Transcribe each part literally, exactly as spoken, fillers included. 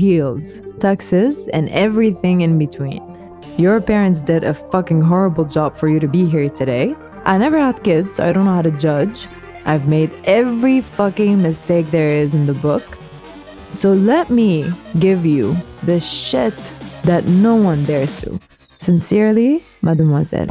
heels, taxes, and everything in between. Your parents did a fucking horrible job for you to be here today. I never had kids, so I don't know how to judge. I've made every fucking mistake there is in the book. So let me give you the shit that no one dares to. Sincerely, Mademoiselle.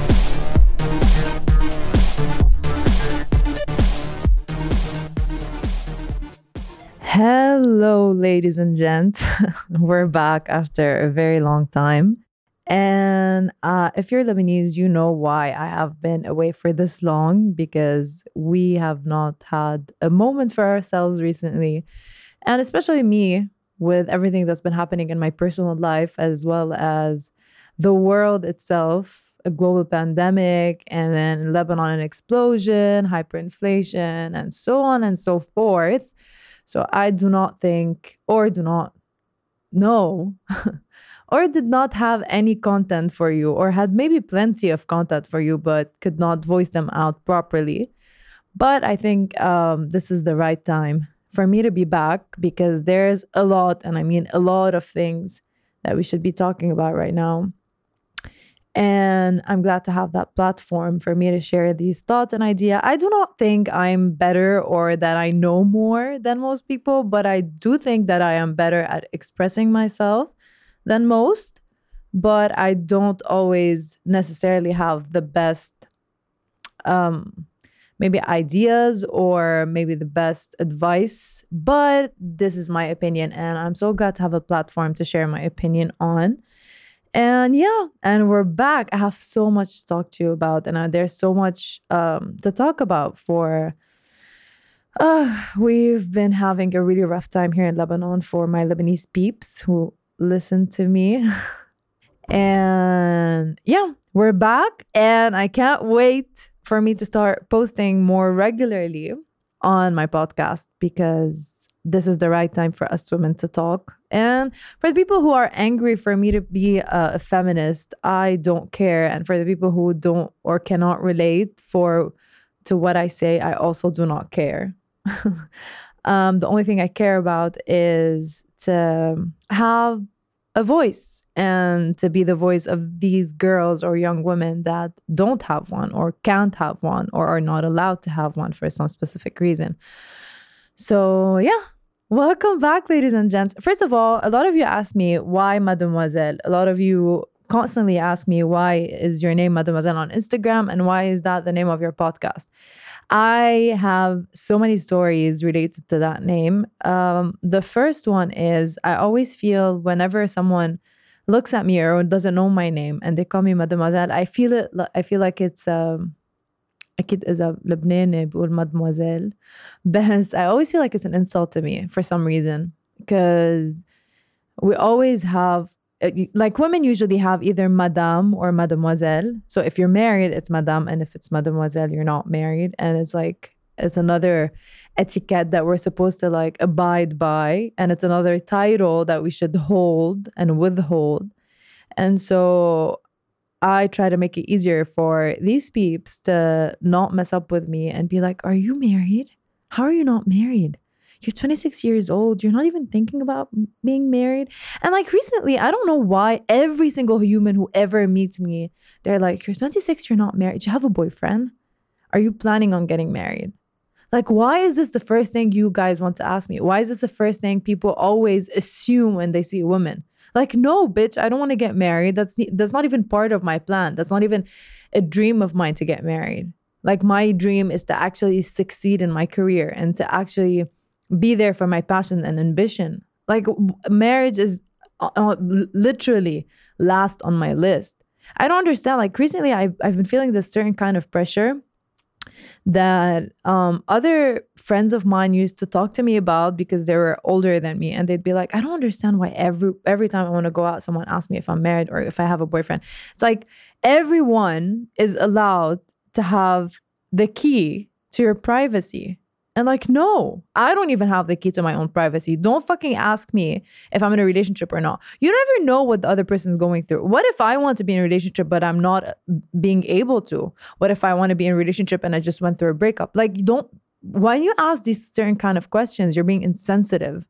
Hello, ladies and gents. We're back after a very long time. And uh, if you're Lebanese, you know why I have been away for this long, because we have not had a moment for ourselves recently. And especially me, with everything that's been happening in my personal life, as well as the world itself, a global pandemic, and then in Lebanon, an explosion, hyperinflation, and so on and so forth. So I do not think, or do not know, or did not have any content for you, or had maybe plenty of content for you, but could not voice them out properly. But I think um, this is the right time for me to be back, because there's a lot, and I mean a lot of things that we should be talking about right now. And I'm glad to have that platform for me to share these thoughts and ideas. I do not think I'm better or that I know more than most people, but I do think that I am better at expressing myself than most. But I don't always necessarily have the best um, maybe ideas or maybe the best advice. But this is my opinion, and I'm so glad to have a platform to share my opinion on. And yeah, and we're back. I have so much to talk to you about, and uh, there's so much um, to talk about for... Uh, we've been having a really rough time here in Lebanon for my Lebanese peeps who listen to me. And yeah, we're back, and I can't wait for me to start posting more regularly on my podcast, because this is the right time for us women to talk. And for the people who are angry for me to be a, a feminist, I don't care. And for the people who don't or cannot relate for to what I say, I also do not care. um, the only thing I care about is to have a voice, and to be the voice of these girls or young women that don't have one, or can't have one, or are not allowed to have one for some specific reason. So yeah. Welcome back, ladies and gents. First of all, a lot of you ask me, why Mademoiselle? A lot of you constantly ask me, why is your name Mademoiselle on Instagram, and why is that the name of your podcast? I have so many stories related to that name. Um, the first one is, I always feel whenever someone looks at me or doesn't know my name and they call me Mademoiselle, I feel it. I feel like it's... Um, أكيد إذا لبناني بقول mademoiselle, بس I always feel like it's an insult to me for some reason, because we always have, like, women usually have either madame or mademoiselle. So if you're married, it's madame, and if it's mademoiselle, you're not married. And it's like, it's another etiquette that we're supposed to like abide by, and it's another title that we should hold and withhold. And so I try to make it easier for these peeps to not mess up with me and be like, are you married? How are you not married? You're twenty-six years old. You're not even thinking about being married. And like recently, I don't know why every single human who ever meets me, they're like, you're twenty-six, you're not married. Do you have a boyfriend? Are you planning on getting married? Like, why is this the first thing you guys want to ask me? Why is this the first thing people always assume when they see a woman? Like, no, bitch, I don't want to get married. That's that's not even part of my plan. That's not even a dream of mine to get married. Like, my dream is to actually succeed in my career and to actually be there for my passion and ambition. Like, marriage is uh, literally last on my list. I don't understand. Like, recently, I've, I've been feeling this certain kind of pressure that um, other friends of mine used to talk to me about, because they were older than me, and they'd be like, I don't understand why every every time I want to go out, someone asks me if I'm married or if I have a boyfriend. It's like, everyone is allowed to have the key to your privacy. And like, no, I don't even have the key to my own privacy. Don't fucking ask me if I'm in a relationship or not. You never know what the other person's going through. What if I want to be in a relationship, but I'm not being able to? What if I want to be in a relationship and I just went through a breakup? Like, you don't, when you ask these certain kind of questions, you're being insensitive.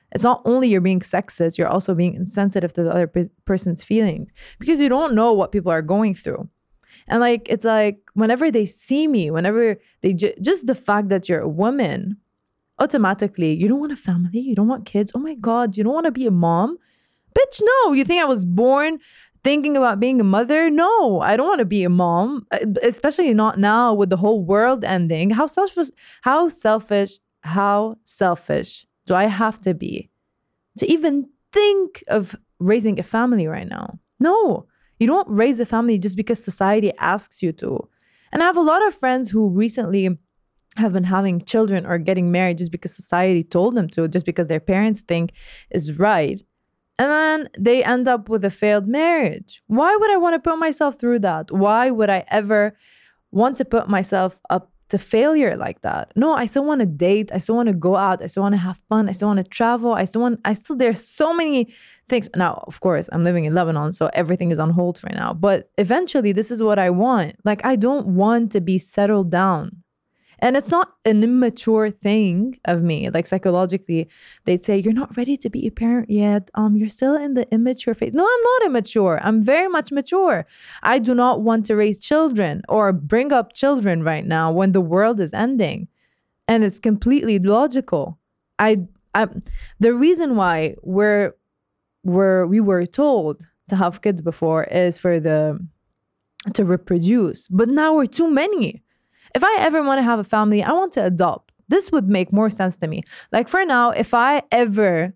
It's not only you're being sexist, you're also being insensitive to the other pe- person's feelings because you don't know what people are going through. And like, it's like whenever they see me, whenever they ju- just the fact that you're a woman, automatically, you don't want a family, you don't want kids. Oh my God, you don't want to be a mom? Bitch, no. You think I was born thinking about being a mother? No, I don't want to be a mom, especially not now with the whole world ending. How selfish, how selfish, how selfish do I have to be to even think of raising a family right now? No. You don't raise a family just because society asks you to. And I have a lot of friends who recently have been having children or getting married just because society told them to, just because their parents think is right. And then they end up with a failed marriage. Why would I want to put myself through that? Why would I ever want to put myself up to failure like that? No, I still want to date. I still want to go out. I still want to have fun. I still want to travel. I still want, I still, there's so many things. Now, of course, I'm living in Lebanon, so everything is on hold for now. But eventually, this is what I want. Like, I don't want to be settled down. And it's not an immature thing of me. Like, psychologically, they'd say, you're not ready to be a parent yet. Um, you're still in the immature phase. No, I'm not immature. I'm very much mature. I do not want to raise children or bring up children right now when the world is ending. And it's completely logical. I, I the reason why we're, we're, we were told to have kids before is for the, to reproduce. But now we're too many. If I ever want to have a family, I want to adopt. This would make more sense to me. Like for now, if I ever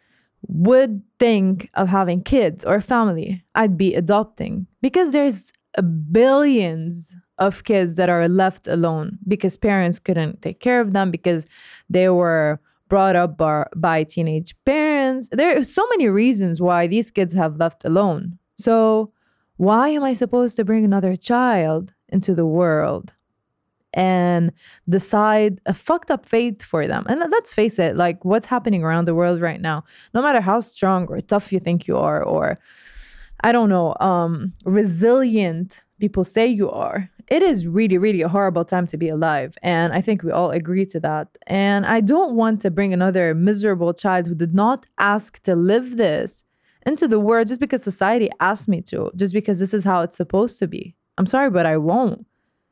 would think of having kids or a family, I'd be adopting because there's billions of kids that are left alone because parents couldn't take care of them because they were brought up by, by teenage parents. There are so many reasons why these kids have left alone. So why am I supposed to bring another child into the world and decide a fucked up fate for them? And let's face it, like what's happening around the world right now, no matter how strong or tough you think you are, or I don't know, um, resilient people say you are, it is really, really a horrible time to be alive. And I think we all agree to that. And I don't want to bring another miserable child who did not ask to live this into the world just because society asked me to, just because this is how it's supposed to be. I'm sorry, but I won't.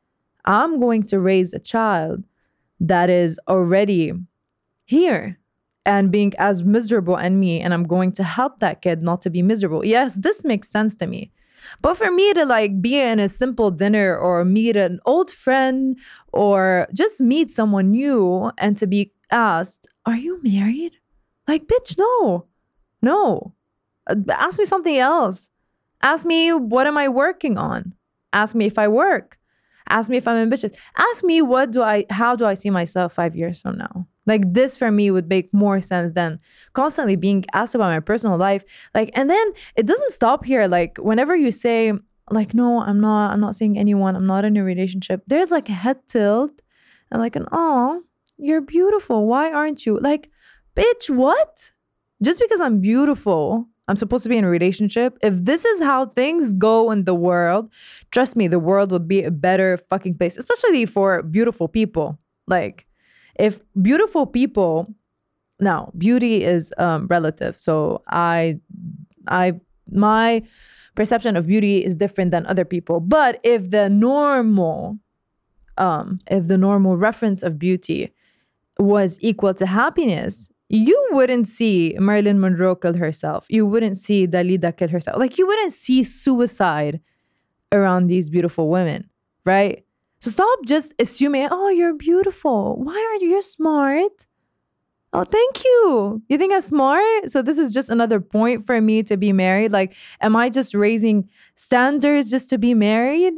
I'm going to raise a child that is already here and being as miserable as me, and I'm going to help that kid not to be miserable. Yes, this makes sense to me. But for me to like be in a simple dinner or meet an old friend or just meet someone new and to be asked, are you married? Like, bitch, no, no. Ask me something else. Ask me, what am I working on? Ask me if I work. Ask me if I'm ambitious. Ask me, what do I, how do I see myself five years from now? Like this for me would make more sense than constantly being asked about my personal life. Like, and then it doesn't stop here. Like whenever you say like, no, I'm not, I'm not seeing anyone. I'm not in a relationship. There's like a head tilt and like an, oh, you're beautiful. Why aren't you? Like, bitch, what? Just because I'm beautiful, I'm supposed to be in a relationship? If this is how things go in the world, trust me, the world would be a better fucking place, especially for beautiful people. Like, if beautiful people, now beauty is um, relative. So I, I, my perception of beauty is different than other people. But if the normal, um, if the normal reference of beauty was equal to happiness, you wouldn't see Marilyn Monroe kill herself. You wouldn't see Dalida kill herself. Like you wouldn't see suicide around these beautiful women, right? So stop just assuming, oh, you're beautiful. Why are you? You're smart. Oh, thank you. You think I'm smart? So this is just another point for me to be married. Like, am I just raising standards just to be married?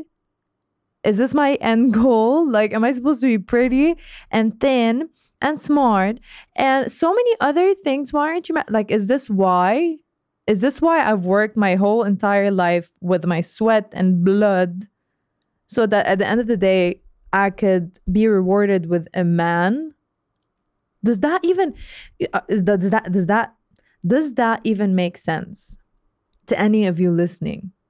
Is this my end goal? Like, am I supposed to be pretty and thin and smart and so many other things? Why aren't you ma- like, is this why? Is this why I've worked my whole entire life with my sweat and blood so that at the end of the day, I could be rewarded with a man? Does that even, is that, does that, does that, does that even make sense to any of you listening?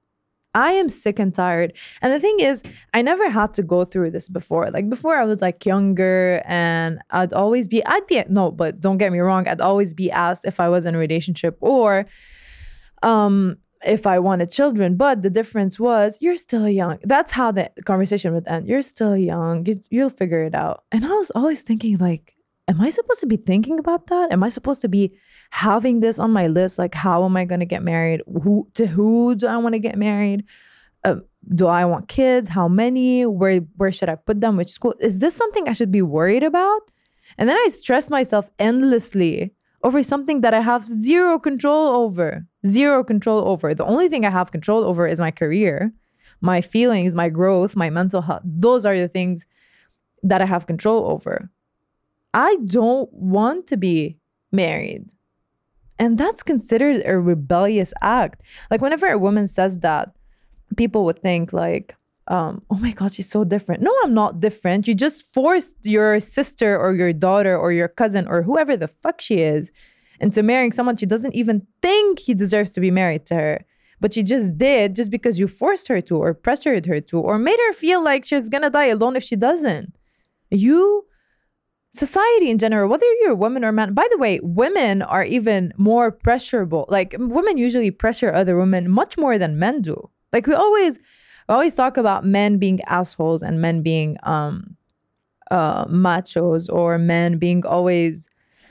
I am sick and tired. And the thing is, I never had to go through this before. Like before I was like younger and I'd always be, I'd be, no, but don't get me wrong. I'd always be asked if I was in a relationship or um, if I wanted children. But the difference was you're still young. That's how the conversation would end. You're still young. You, you'll figure it out. And I was always thinking like, am I supposed to be thinking about that? Am I supposed to be having this on my list? Like, how am I going to get married? Who to who do I want to get married? Uh, do I want kids? How many? Where where should I put them? Which school? Is this something I should be worried about? And then I stress myself endlessly over something that I have zero control over. Zero control over. The only thing I have control over is my career, my feelings, my growth, my mental health. Those are the things that I have control over. I don't want to be married. And that's considered a rebellious act. Like whenever a woman says that, people would think like, um, oh my God, she's so different. No, I'm not different. You just forced your sister or your daughter or your cousin or whoever the fuck she is into marrying someone she doesn't even think he deserves to be married to her. But she just did just because you forced her to or pressured her to or made her feel like she's gonna die alone if she doesn't. You... Society in general, whether you're a woman or man, by the way, women are even more pressurable. Like women usually pressure other women much more than men do. Like we always, we always talk about men being assholes and men being um, uh, machos or men being always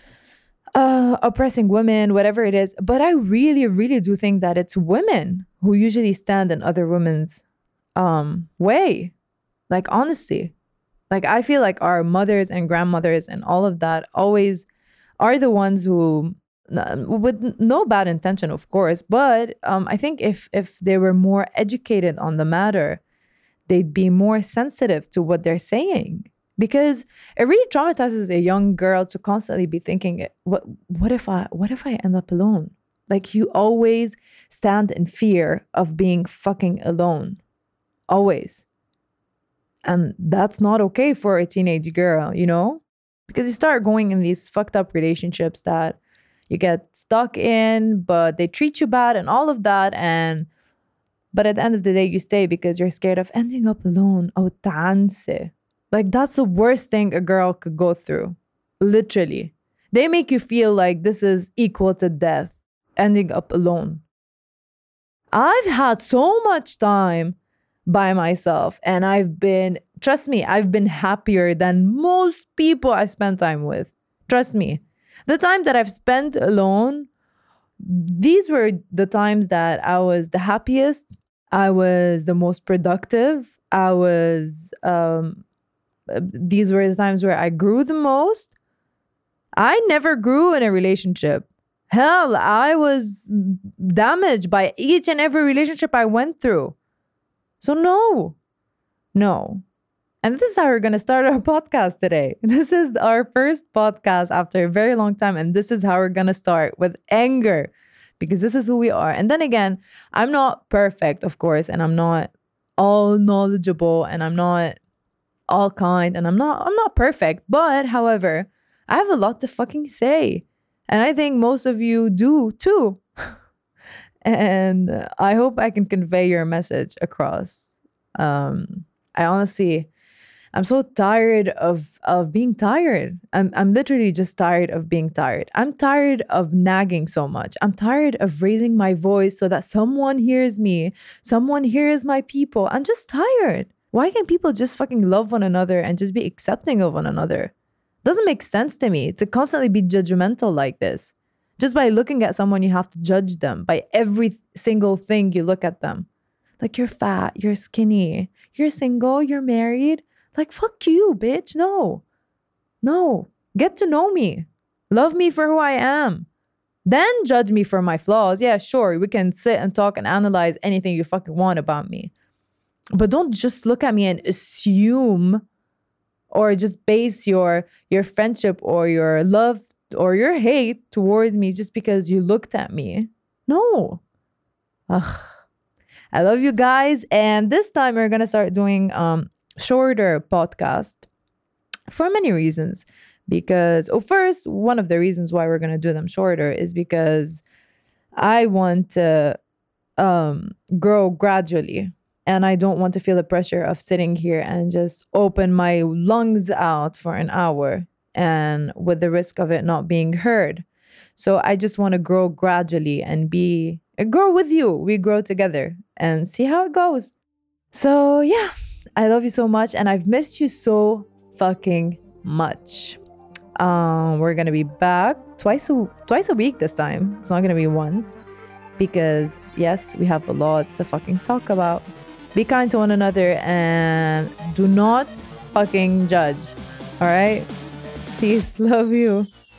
uh, oppressing women, whatever it is. But I really, really do think that it's women who usually stand in other women's um, way. Like honestly. Like, I feel like our mothers and grandmothers and all of that always are the ones who, with no bad intention, of course, but um, I think if if they were more educated on the matter, they'd be more sensitive to what they're saying. Because it really traumatizes a young girl to constantly be thinking, what what if I what if I end up alone? Like, you always stand in fear of being fucking alone. Always. And that's not okay for a teenage girl, you know? Because you start going in these fucked up relationships that you get stuck in, but they treat you bad and all of that. And but at the end of the day, you stay because you're scared of ending up alone. Oh, tanse. Like, that's the worst thing a girl could go through. Literally. They make you feel like this is equal to death, ending up alone. I've had so much time by myself and I've been, trust me, I've been happier than most people I spend time with. Trust me. The time that I've spent alone, these were the times that I was the happiest. I was the most productive. I was, um, these were the times where I grew the most. I never grew in a relationship. Hell, I was damaged by each and every relationship I went through. So no, no. And this is how we're going to start our podcast today. This is our first podcast after a very long time. And this is how we're going to start, with anger, because this is who we are. And then again, I'm not perfect, of course, and I'm not all knowledgeable and I'm not all kind and I'm not, I'm not perfect. But however, I have a lot to fucking say. And I think most of you do too. And I hope I can convey your message across. Um, I honestly, I'm so tired of of being tired. I'm I'm literally just tired of being tired. I'm tired of nagging so much. I'm tired of raising my voice so that someone hears me, someone hears my people. I'm just tired. Why can't people just fucking love one another and just be accepting of one another? Doesn't make sense to me to constantly be judgmental like this. Just by looking at someone, you have to judge them by every single thing you look at them. Like, you're fat, you're skinny, you're single, you're married. Like, fuck you, bitch. No. No. Get to know me. Love me for who I am. Then judge me for my flaws. Yeah, sure. We can sit and talk and analyze anything you fucking want about me. But don't just look at me and assume or just base your your friendship or your love or your hate towards me just because you looked at me. No. Ugh. I love you guys. And this time we're going to start doing um shorter podcast for many reasons. Because, oh, first, one of the reasons why we're going to do them shorter is because I want to um, grow gradually. And I don't want to feel the pressure of sitting here and just open my lungs out for an hour and with the risk of it not being heard. So I just want to grow gradually and be grow with you. We grow together and see how it goes. So yeah, I love you so much and I've missed you so fucking much. Um, we're gonna be back twice a twice a week this time. It's not gonna be once because yes, we have a lot to fucking talk about. Be kind to one another and do not fucking judge. All right? Peace. Love you.